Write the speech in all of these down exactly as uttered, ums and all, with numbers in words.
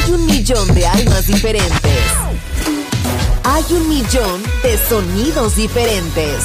Hay un millón de almas diferentes. Hay un millón de sonidos diferentes.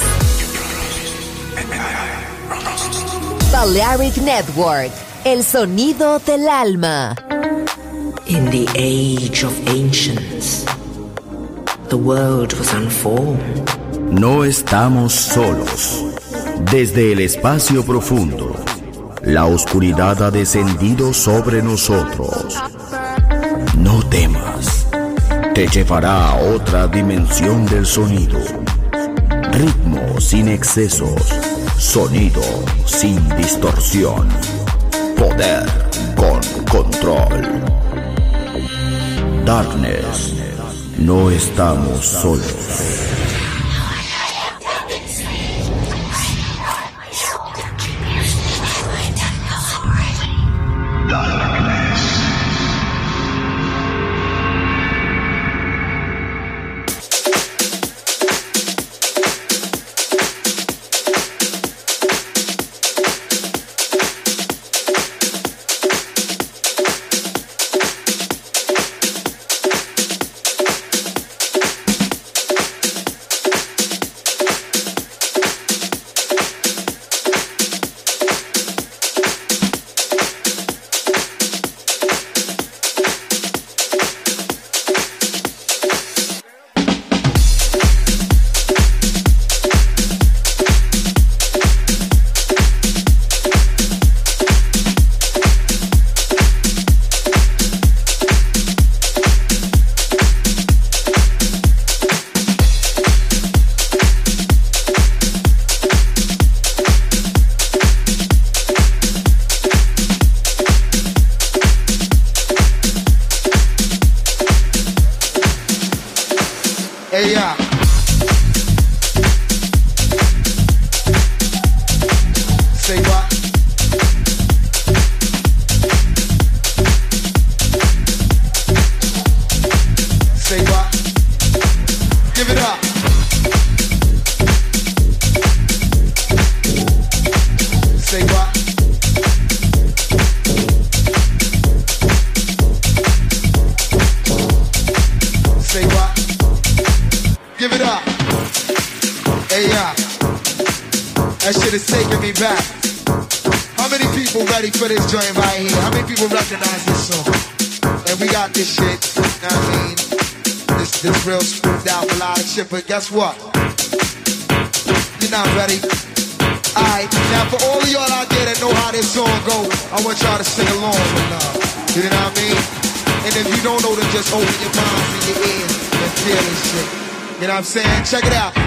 Balearic Network, el sonido del alma. In the age of ancients, the world was unformed. No estamos solos. Desde el espacio profundo, la oscuridad ha descendido sobre nosotros. No temas, te llevará a otra dimensión del sonido. Ritmo sin excesos, sonido sin distorsión, poder con control. Darkness, no estamos solos. But guess what? You're not ready. Alright, now for all of y'all out there that know how this song go, I want y'all to sing along with love. You know what I mean? And if you don't know, then just open your minds and your ears and feel this shit. You know what I'm saying? Check it out.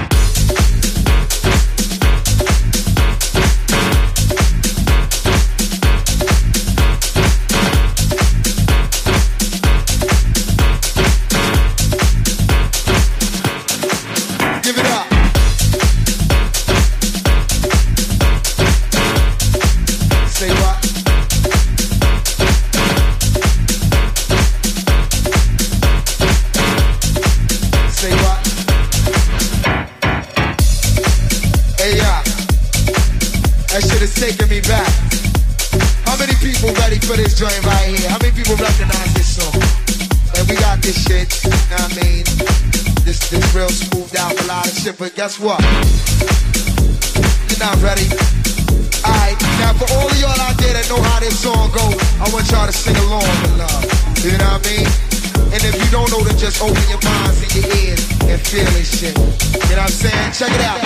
But guess what? You're not ready. Alright, now for all of y'all out there that know how this song go, I want y'all to sing along with love. You know what I mean? And if you don't know, then just open your minds and your ears and feel this shit. You know what I'm saying? Check it out.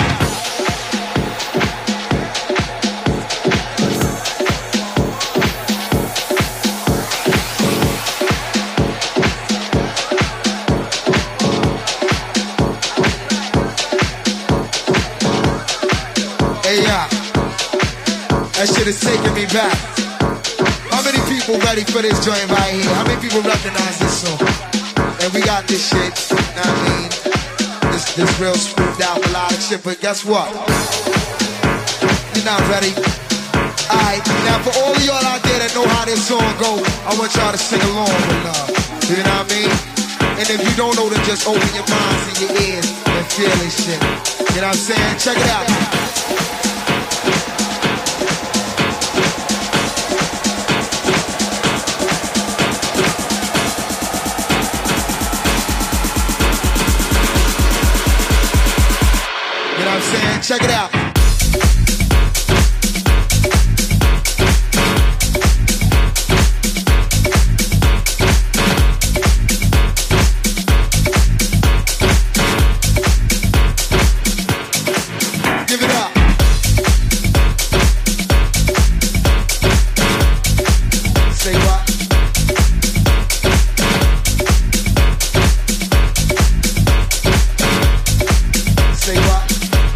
That shit is taking me back. How many people ready for this joint right here? How many people recognize this song? And we got this shit, you know what I mean? This, this real smoothed out melodic shit, but guess what? You're not ready. Alright, now for all of y'all out there that know how this song go, I want y'all to sing along with love. You know what I mean? And if you don't know, then just open your minds and your ears and feel this shit. You know what I'm saying? Check it out. Check it out. Give it up. Say what? Say what?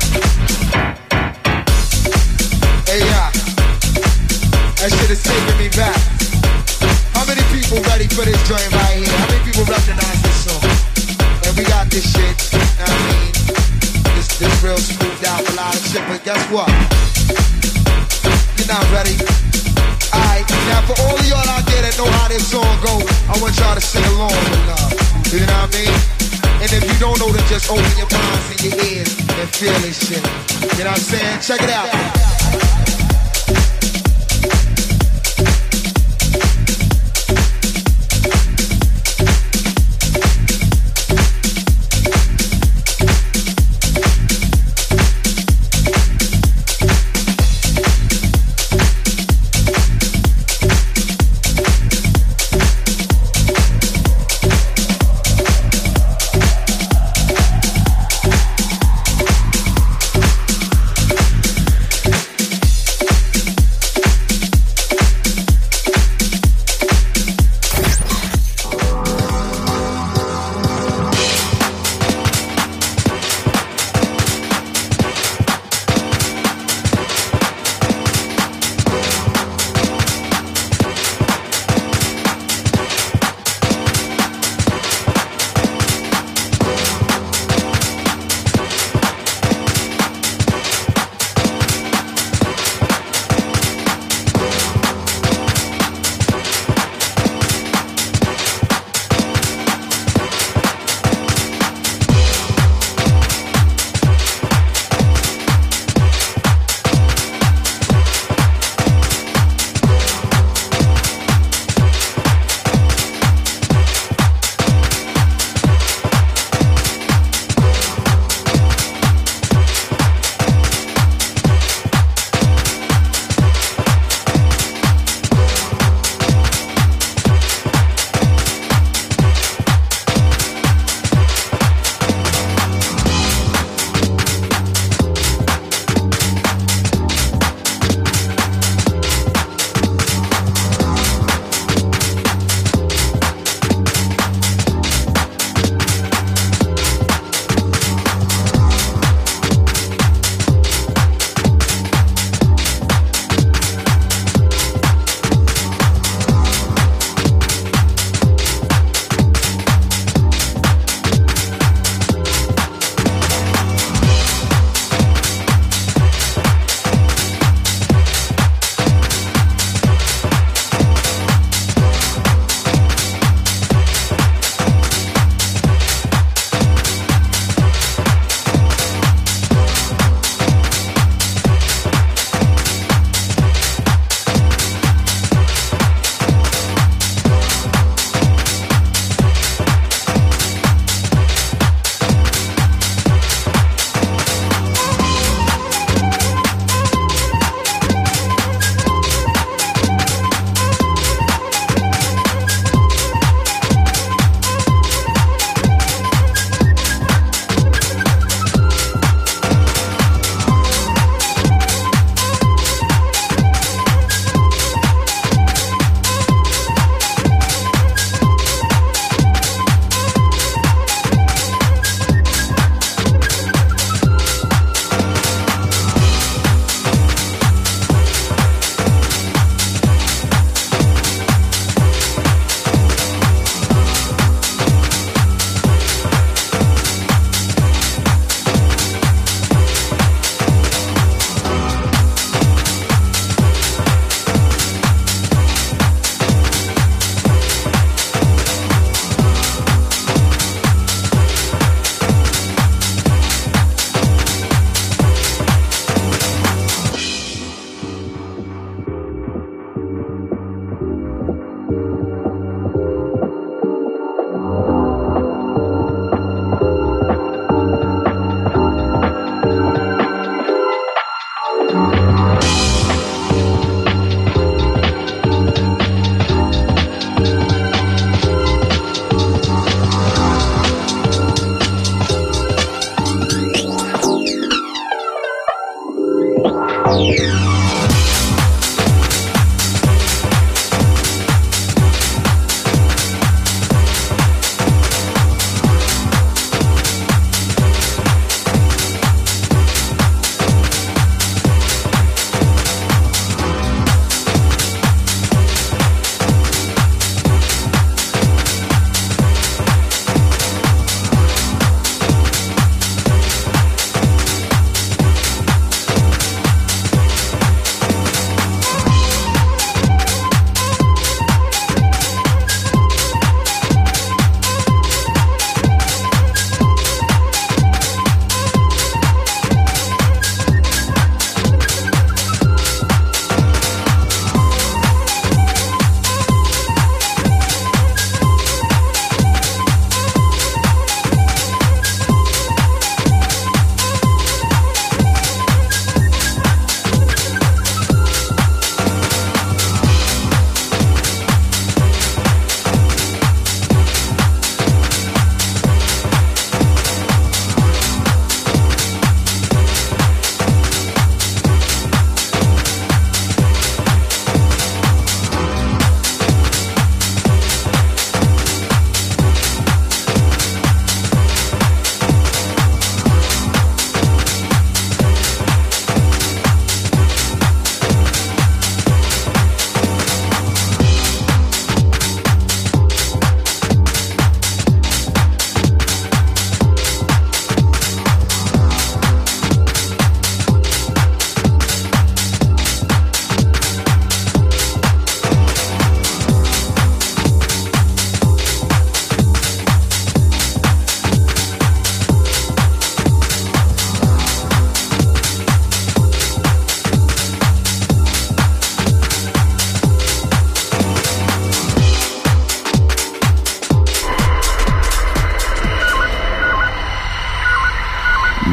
Hey, yeah. That shit is taking me back. How many people ready for this joint right here? How many people recognize this song? And we got this shit, you know what I mean? This, this real scooped out a lot of shit, but guess what? You're not ready. Alright, now for all of y'all out there that know how this song goes, I want y'all to sing along with love. You know what I mean? And if you don't know, then just open your minds and your ears and feel this shit. You know what I'm saying? Check it out.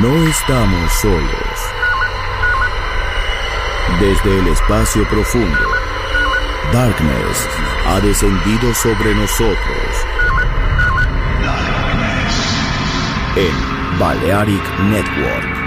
No estamos solos. Desde el espacio profundo, Darkness ha descendido sobre nosotros. En Balearic Network.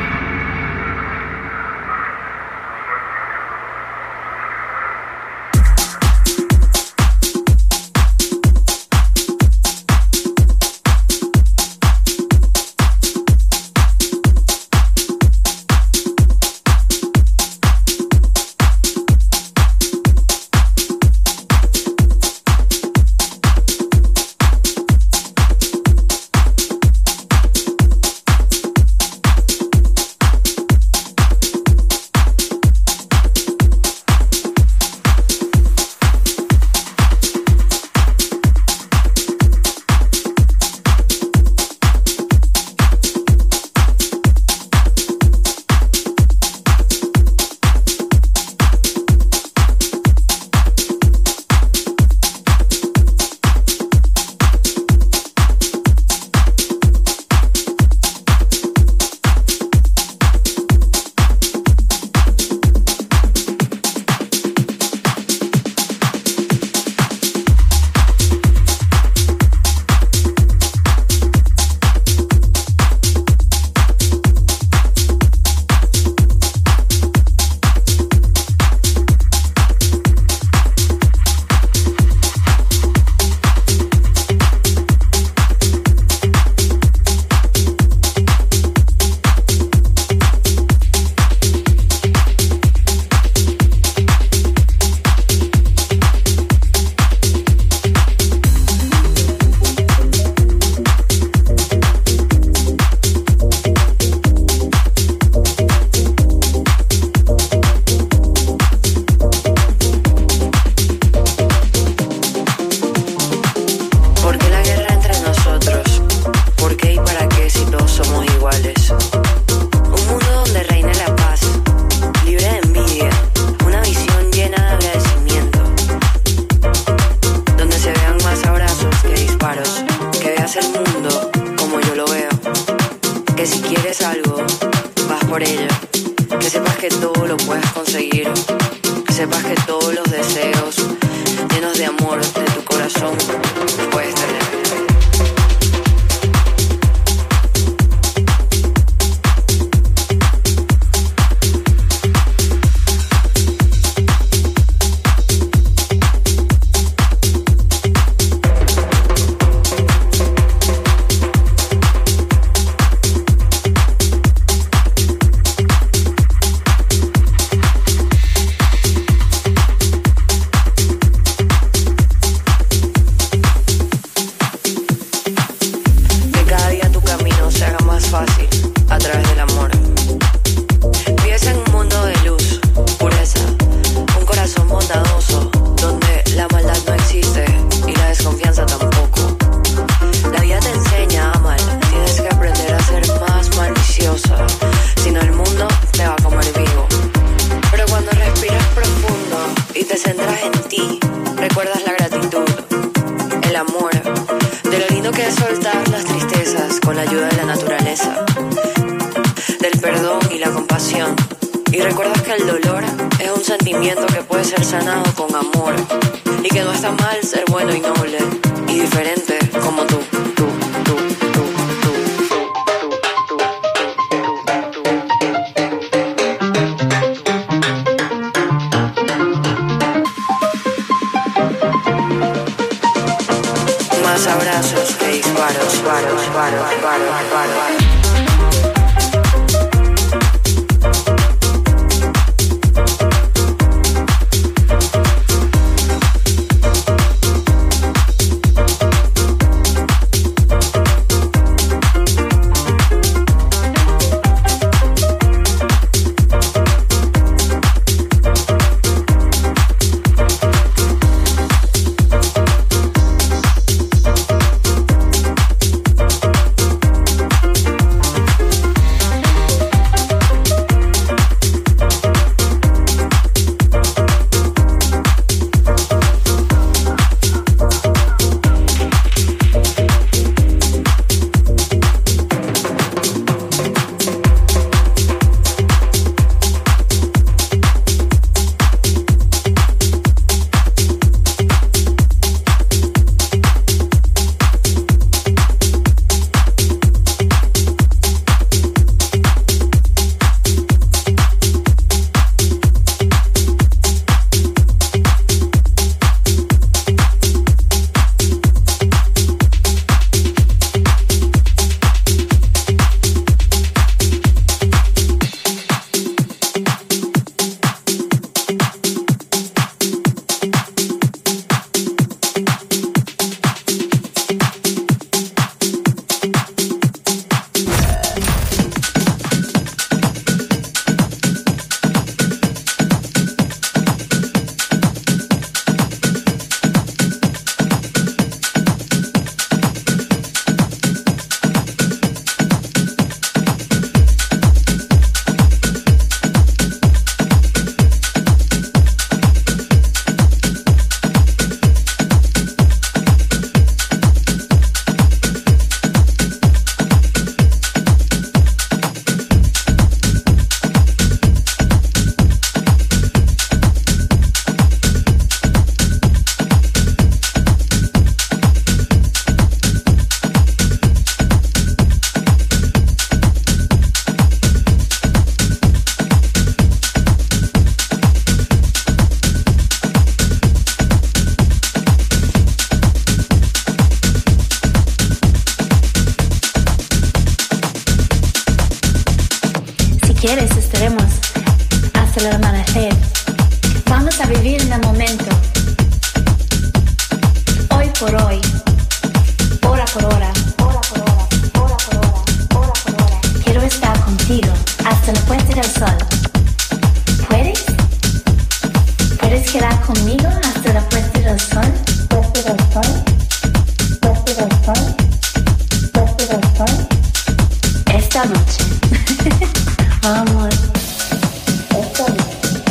por hoy, hora por hora, hora por hora, hora por hora, hora por hora. Quiero estar contigo hasta la puesta del sol. ¿Puedes? ¿Puedes quedar conmigo hasta la puesta del sol? Puesta del sol, puesta del sol, puesta del sol. Esta noche. Vamos. Esta noche.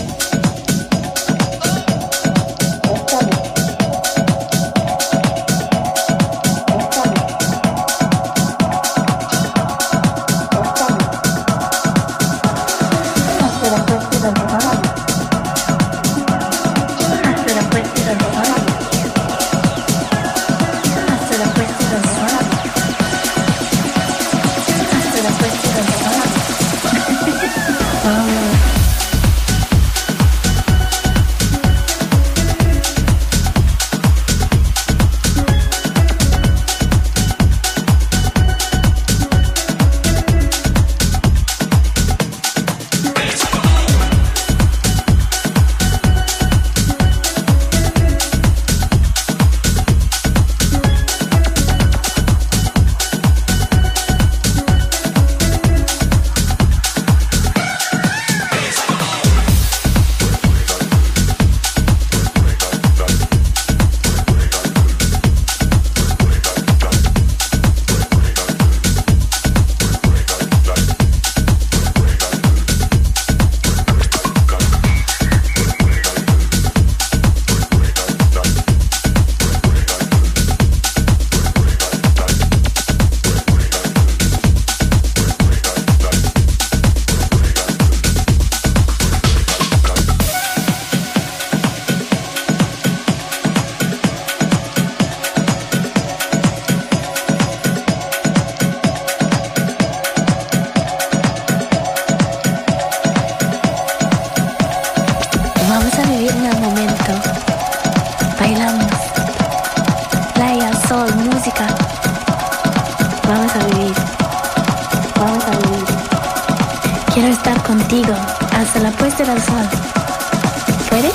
Contigo hasta la puesta del sol. ¿Puedes?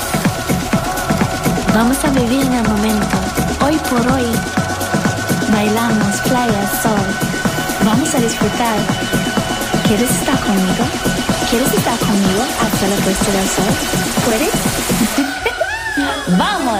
Vamos a vivir en el momento. Hoy por hoy. Bailamos, playa, sol. Vamos a disfrutar. ¿Quieres estar conmigo? ¿Quieres estar conmigo hasta la puesta del sol? ¿Puedes? ¡Vamos!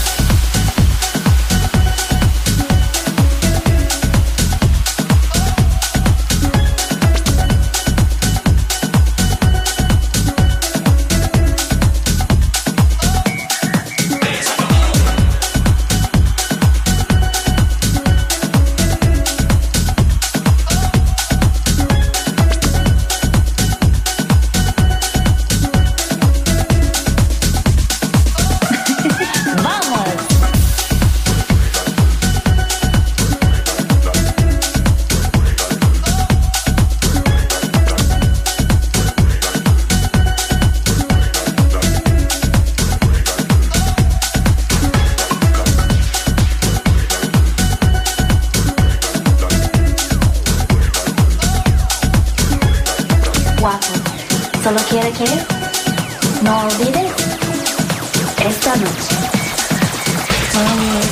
Solo quiere que no olvides esta noche. Vamos.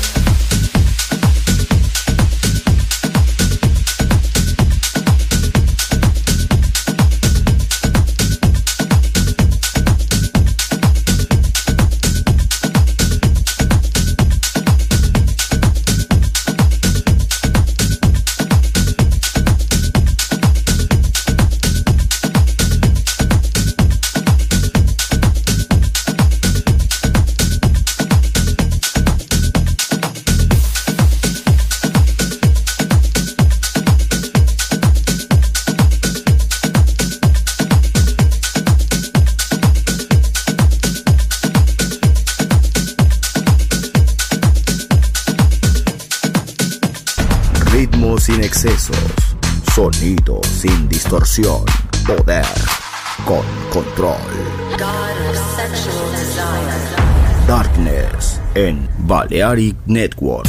Ritmo sin excesos, sonido sin distorsión, poder con control. Darkness en Balearic Network.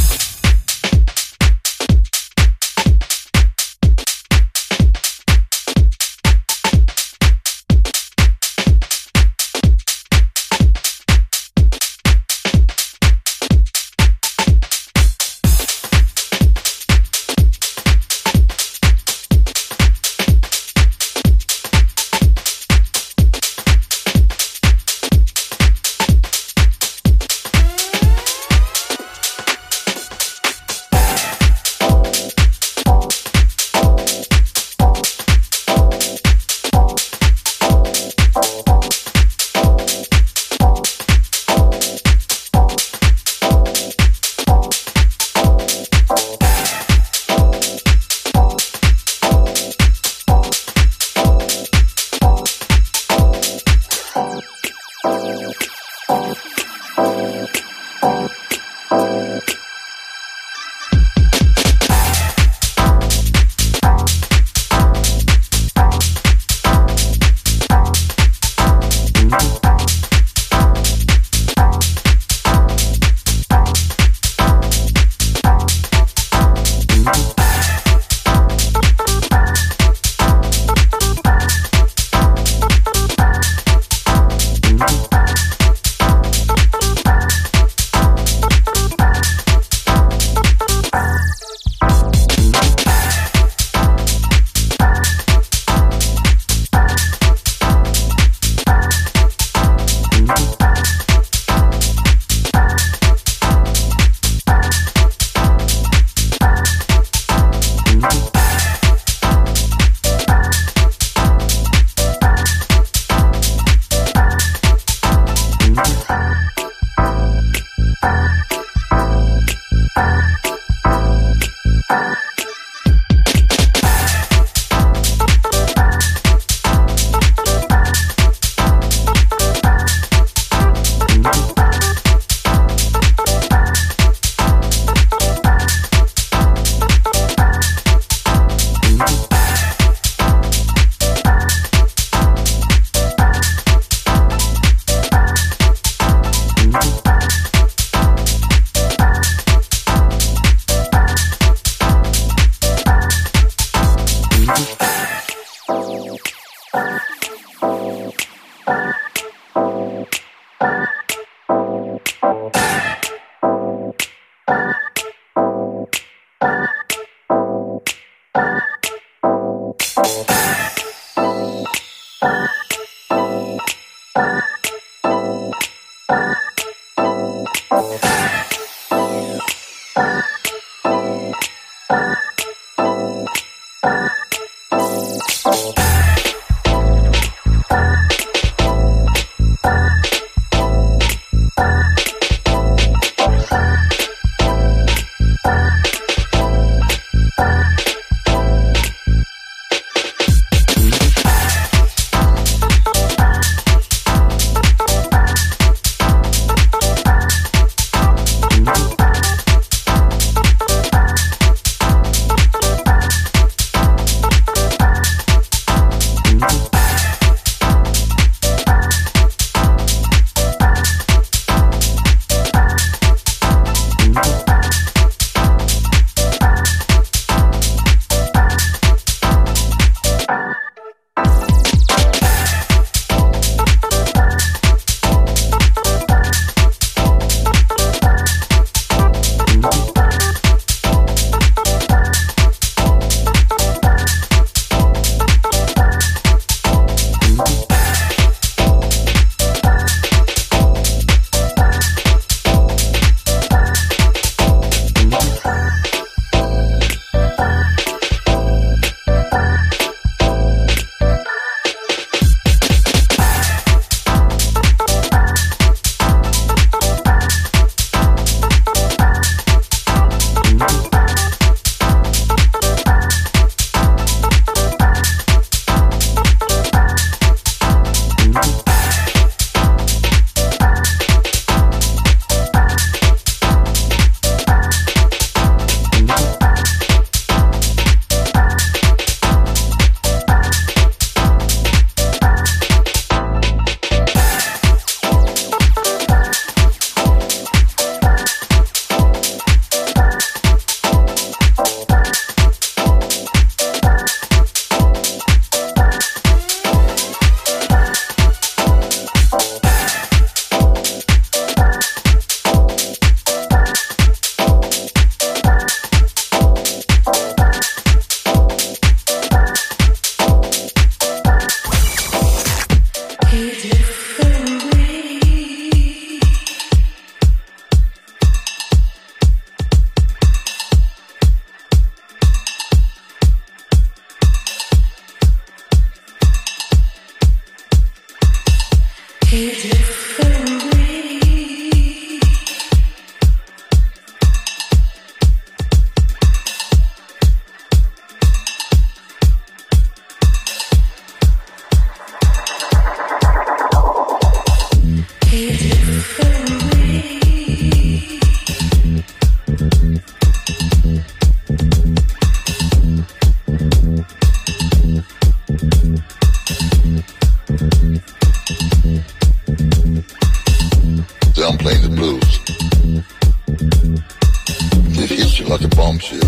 a bombshell.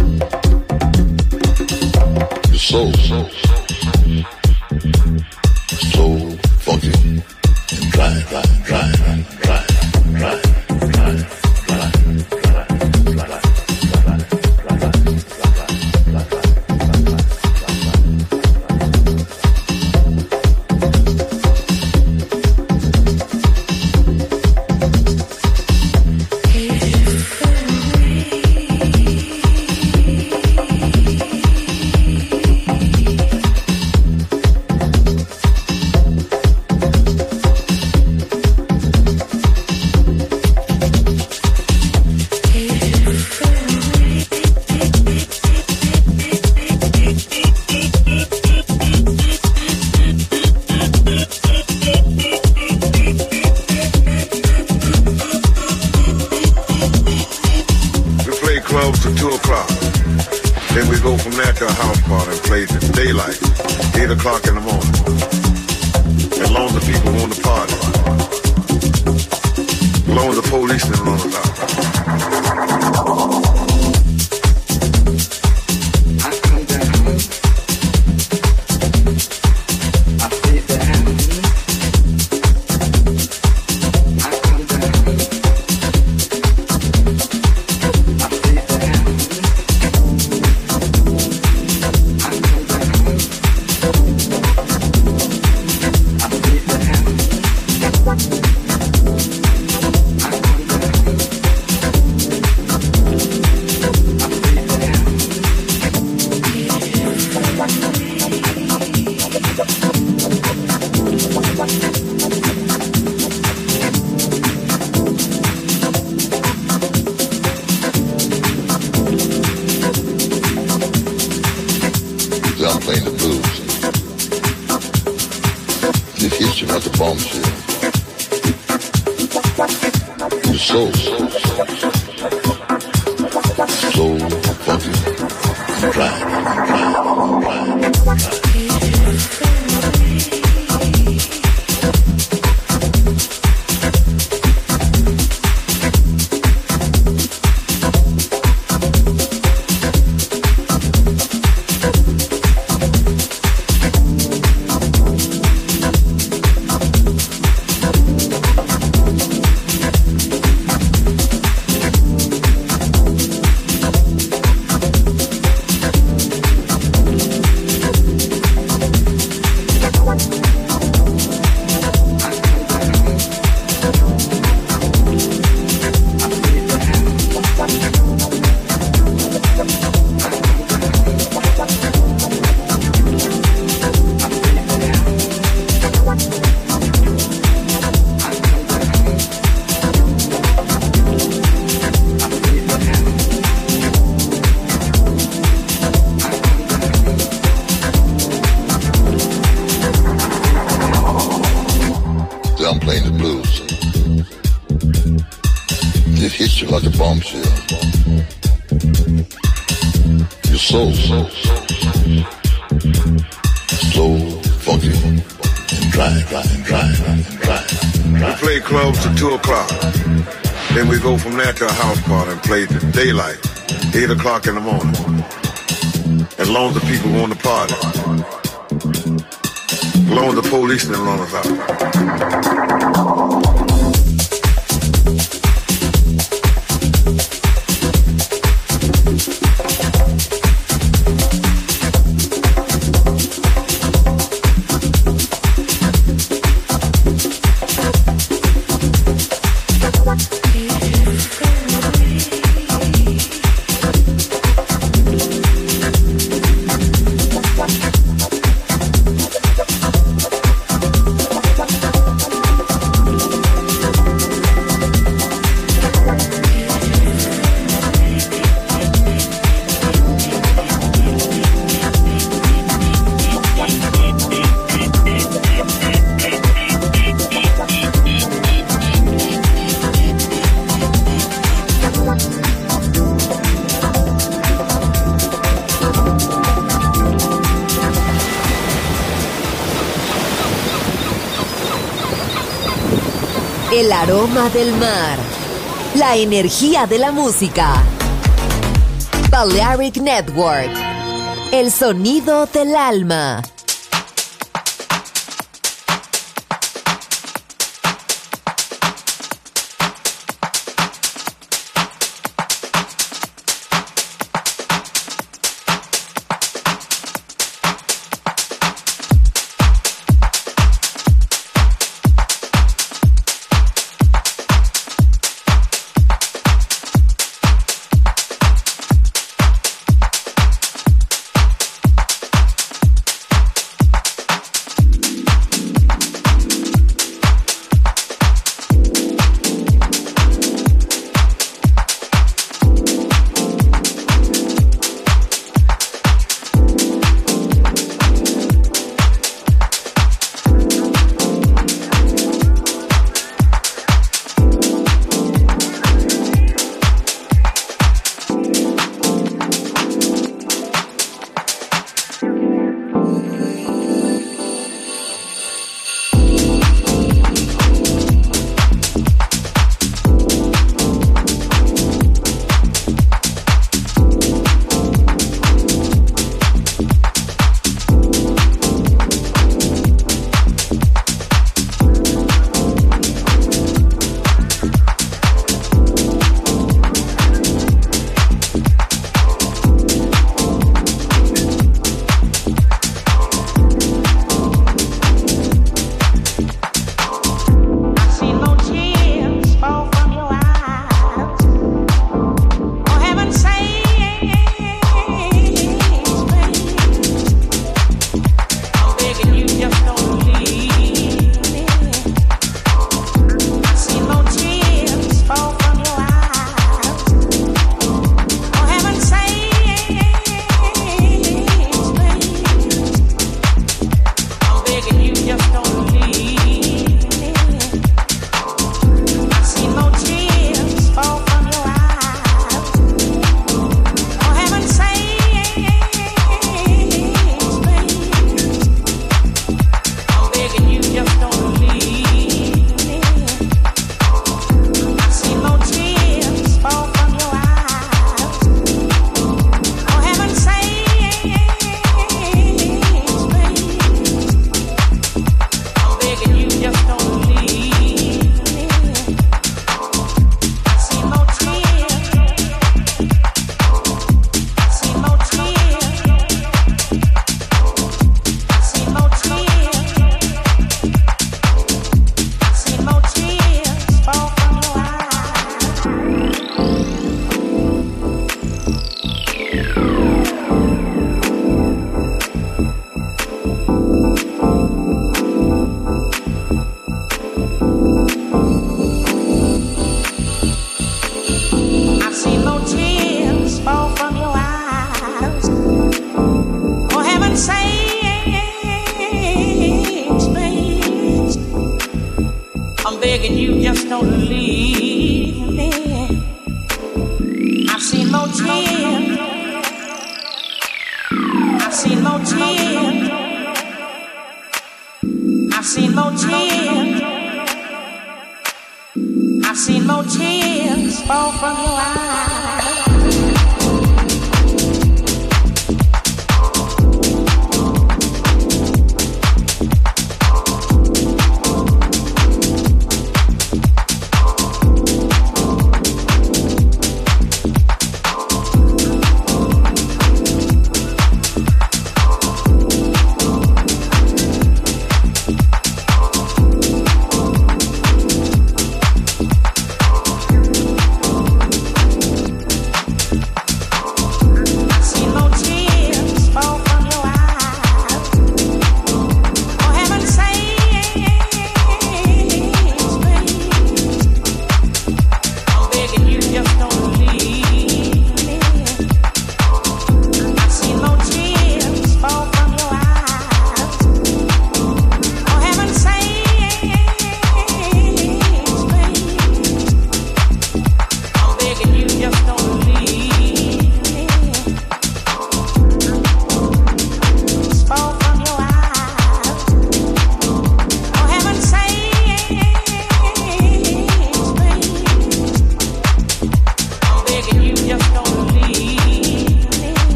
Your soul, so, so funky and dry, dry, dry, dry, dry, dry, dry, dry. Daylight, eight o'clock in the morning. As long as the people want to party. As long as the police didn't run us out. El aroma del mar, la energía de la música. Balearic Network, el sonido del alma.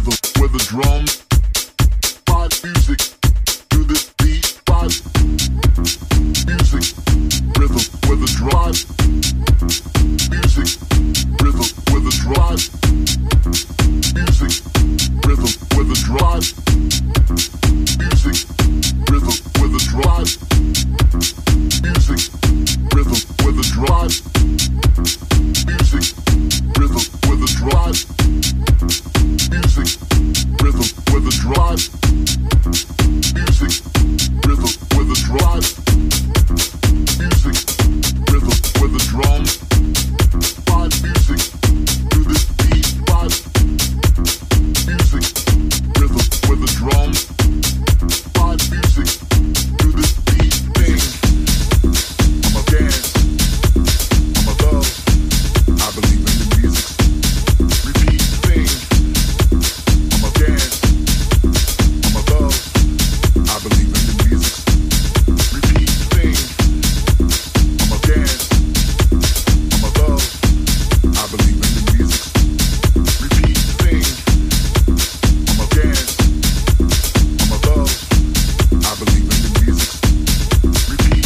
rhythm with the drums, vibe music to this beat, vibe music, rhythm with the drive, music, rhythm with the drive, music, rhythm with the drive, music, rhythm with the drive, music, rhythm with the drive, music, rhythm with the drive, music, rhythm with the drive, music, rhythm with the drive, music, rhythm with the drums, vibe music to this beat, vibe music, rhythm with the drums, vibe music to this beat thing. I'm a dance, I'm a love, I believe in the music. Repeat thing. I'm a dance, I'm a love, I believe in the music. Repeat thing. I'm a dance, I'm a love, I believe in the music. Repeat thing. I'm a dance, I'm a love, I believe in the music. Repeat.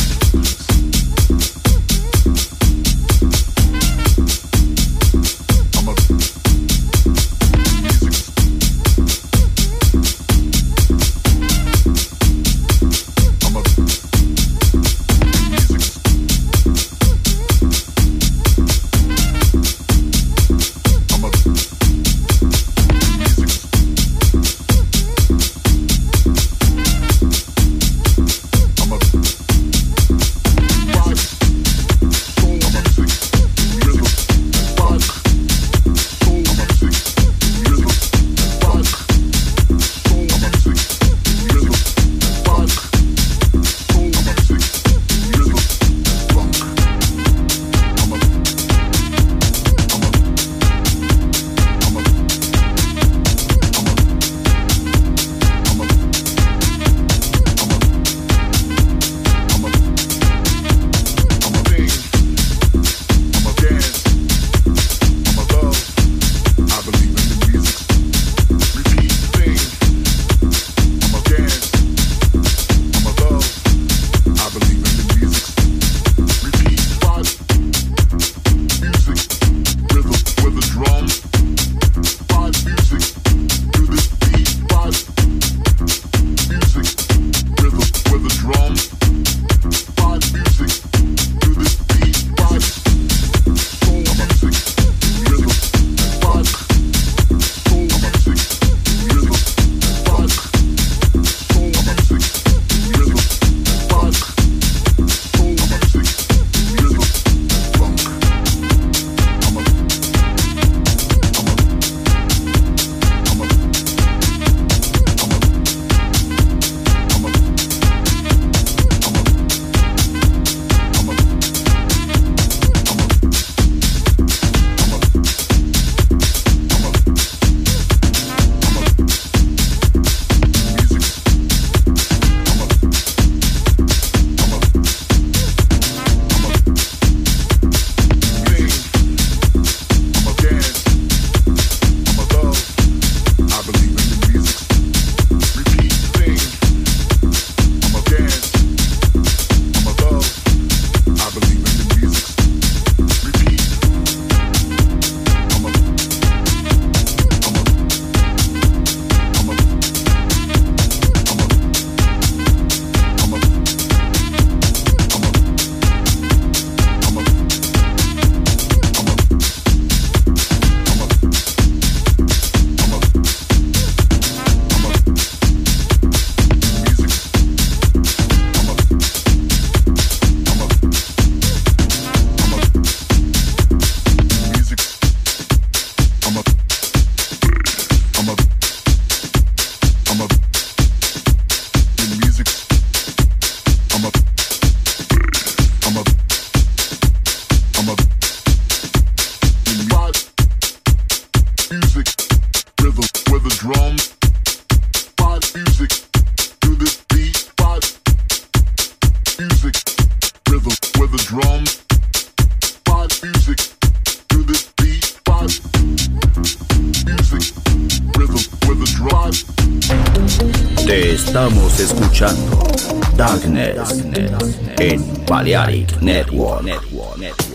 I'm a music. I'm a music. I'm a music to this beat, vibe music, rhythm with Te estamos escuchando. Darkness en Balearic Network. Network, Network.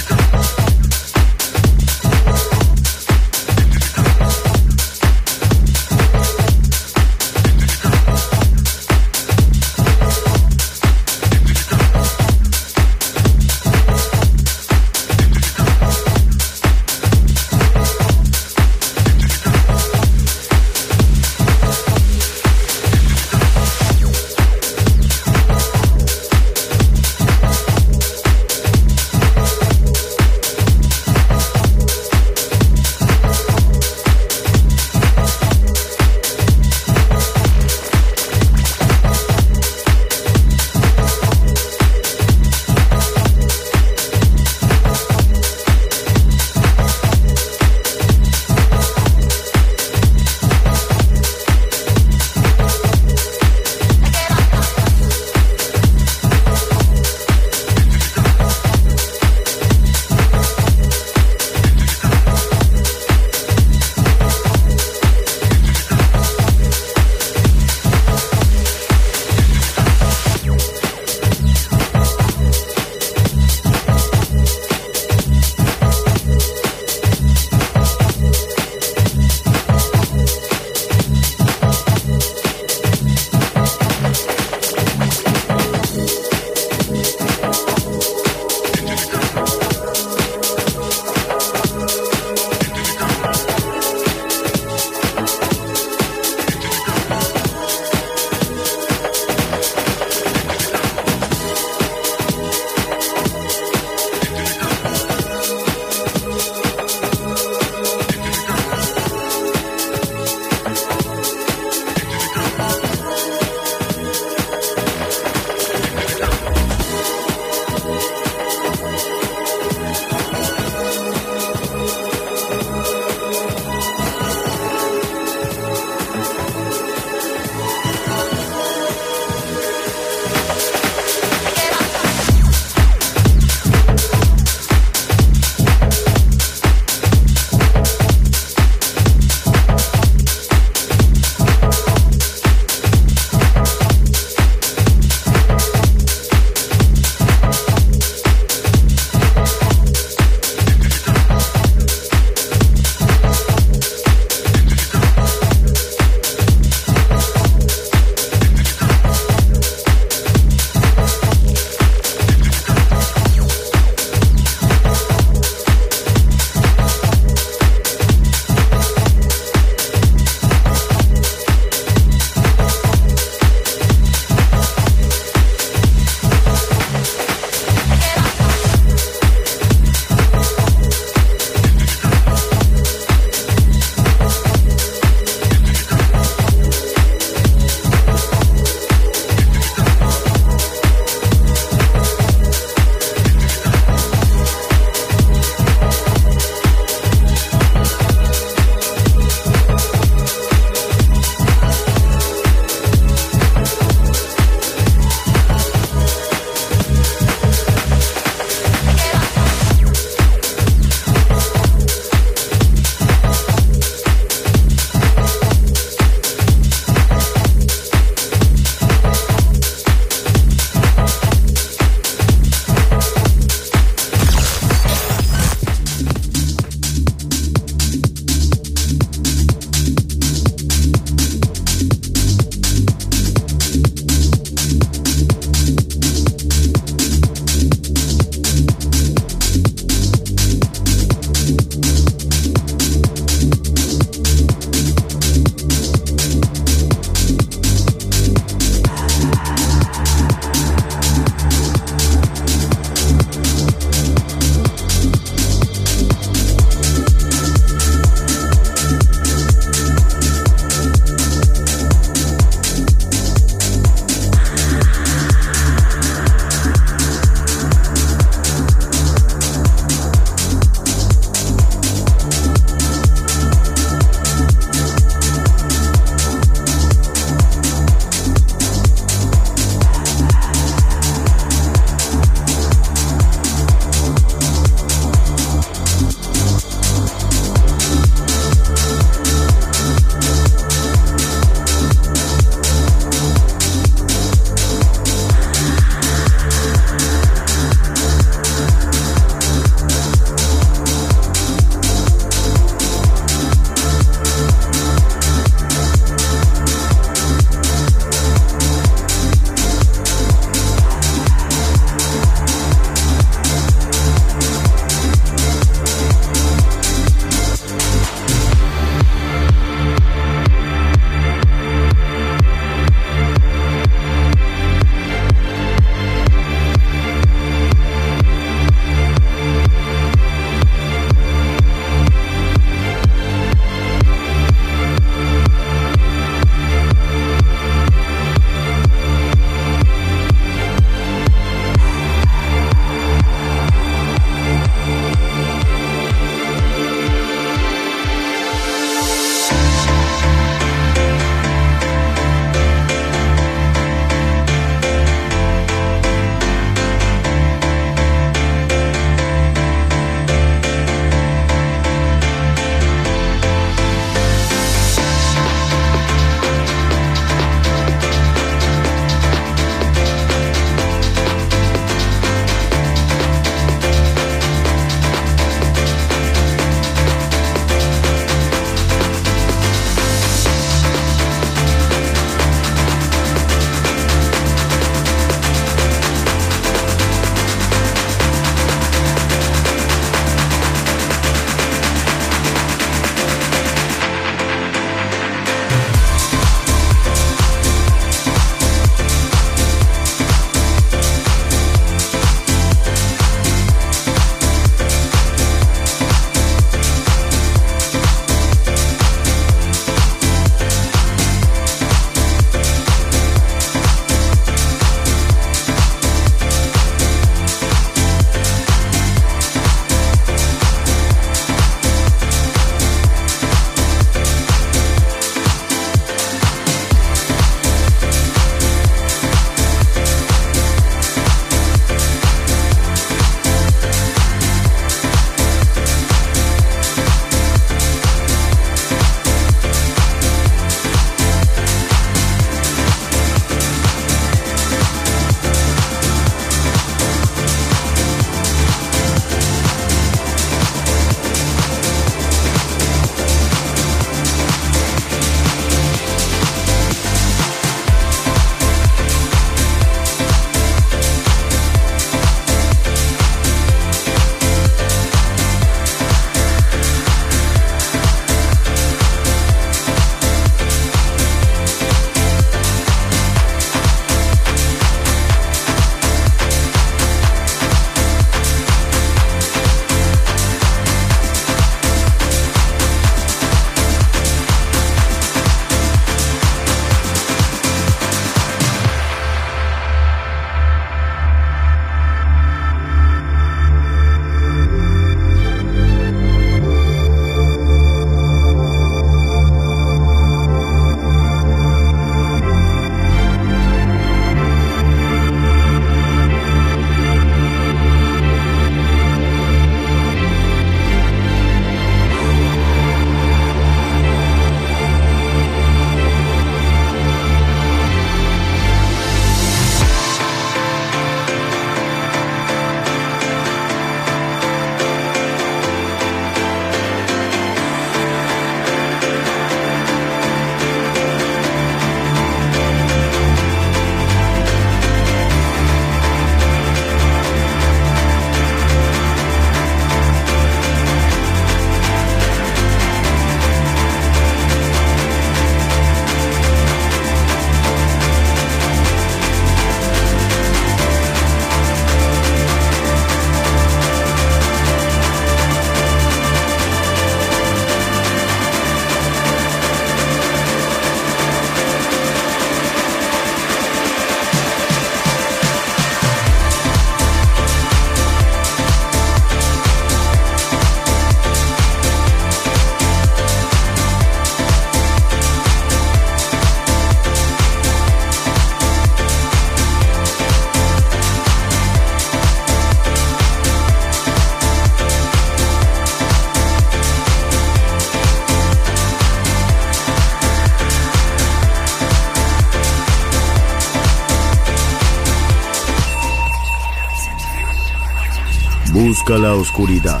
Busca la oscuridad.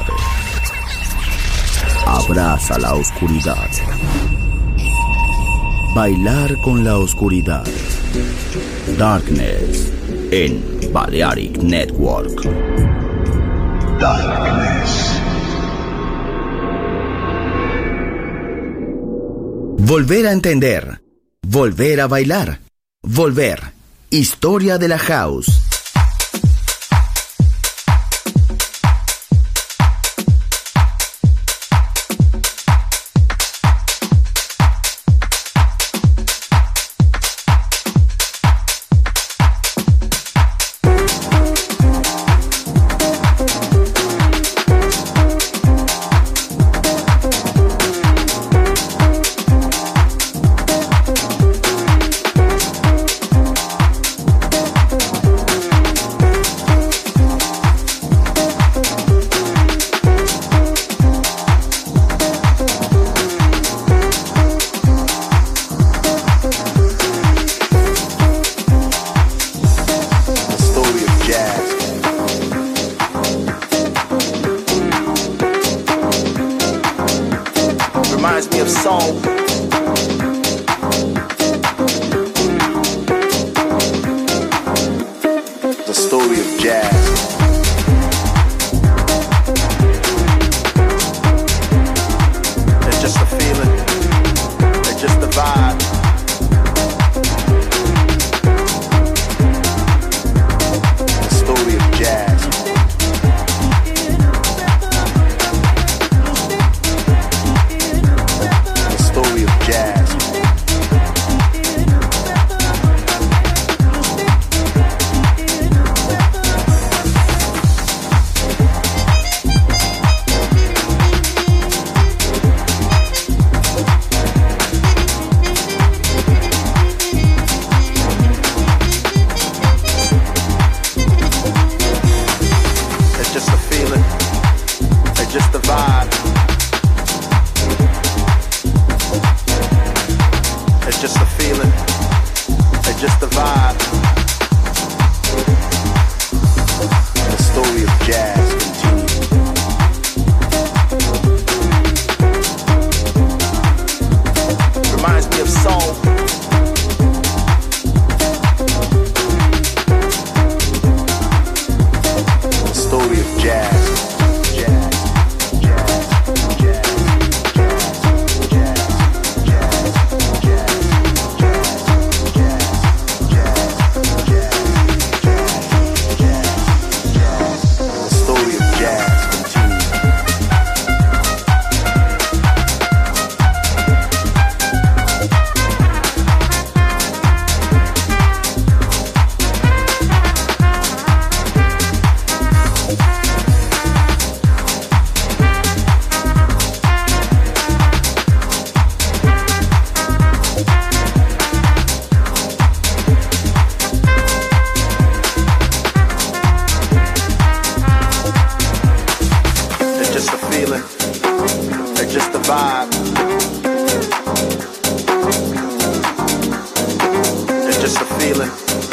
Abraza la oscuridad. Bailar con la oscuridad. Darkness en Balearic Network. Darkness. Volver a entender. Volver a bailar. Volver. Historia de la house.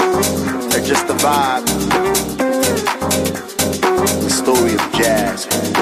Just a vibe. The story of jazz.